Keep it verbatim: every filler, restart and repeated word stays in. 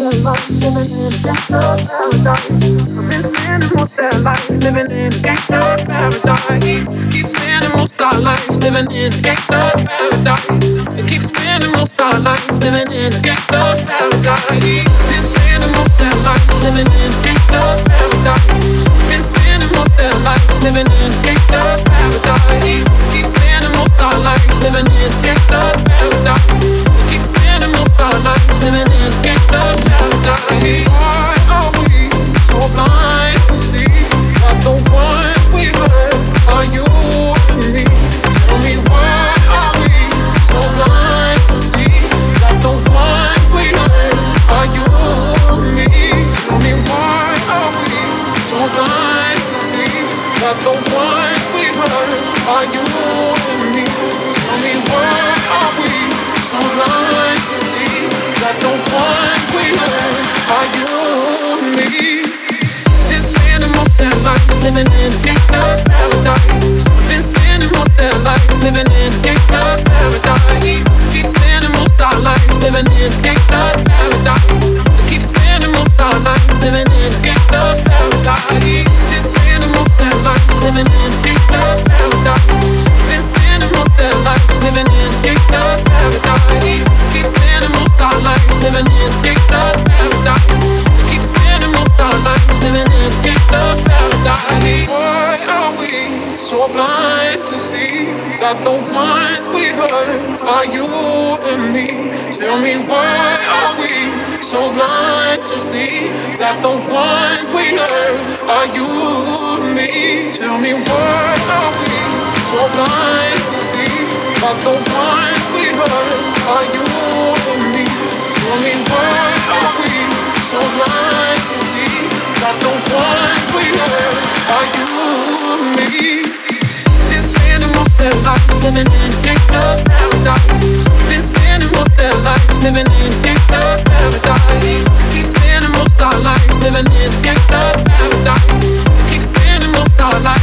their lives living in a gangster's paradise. I've been spending most their lives living in a gangster's paradise. Keep spending most our lives living in a gangster's paradise. We keep spending most our lives living in a gangster's paradise. Been spending most their lives living in a gangster's paradise. Been spending most their lives living in a gangster's paradise. Keep spending most our lives living in a gangster's paradise. We keep spending most our lives living in a gangster's paradise. Why are we so blind to see that the ones we hurt are you and me? Tell me why are we so blind to see that the ones we hurt are you and me? Tell me why are we so blind to see that the ones we hurt are you and me? Tell me why are we so blind to see that the ones we hurt are you and me? Been spending most their lives living in a gangster's paradise. Been spending most their lives living in a gangster's paradise. Keep spending most our lives living in a gangster's paradise. We keep spending most our lives living in a gangster's paradise. Been spending most their lives living in a gangster's paradise. Been spending most their lives living in a gangster's paradise. Keep spending most our lives living in a gangster's paradise. We keep spending most our lives living in a gangster's paradise. Why are we so blind to see that the ones we hurt are you and me? Tell me why are we so blind to see that the ones we hurt are you and me? Tell me why are we so blind to see that the ones we hurt are you and me? Tell me why are we so blind to see that the ones we hurt are you and me? Been spending most their lives living in a gangster's paradise. Been spending most their lives living in a gangster's paradise. Keep spending most our lives living in a gangster's paradise. We keep spending most our lives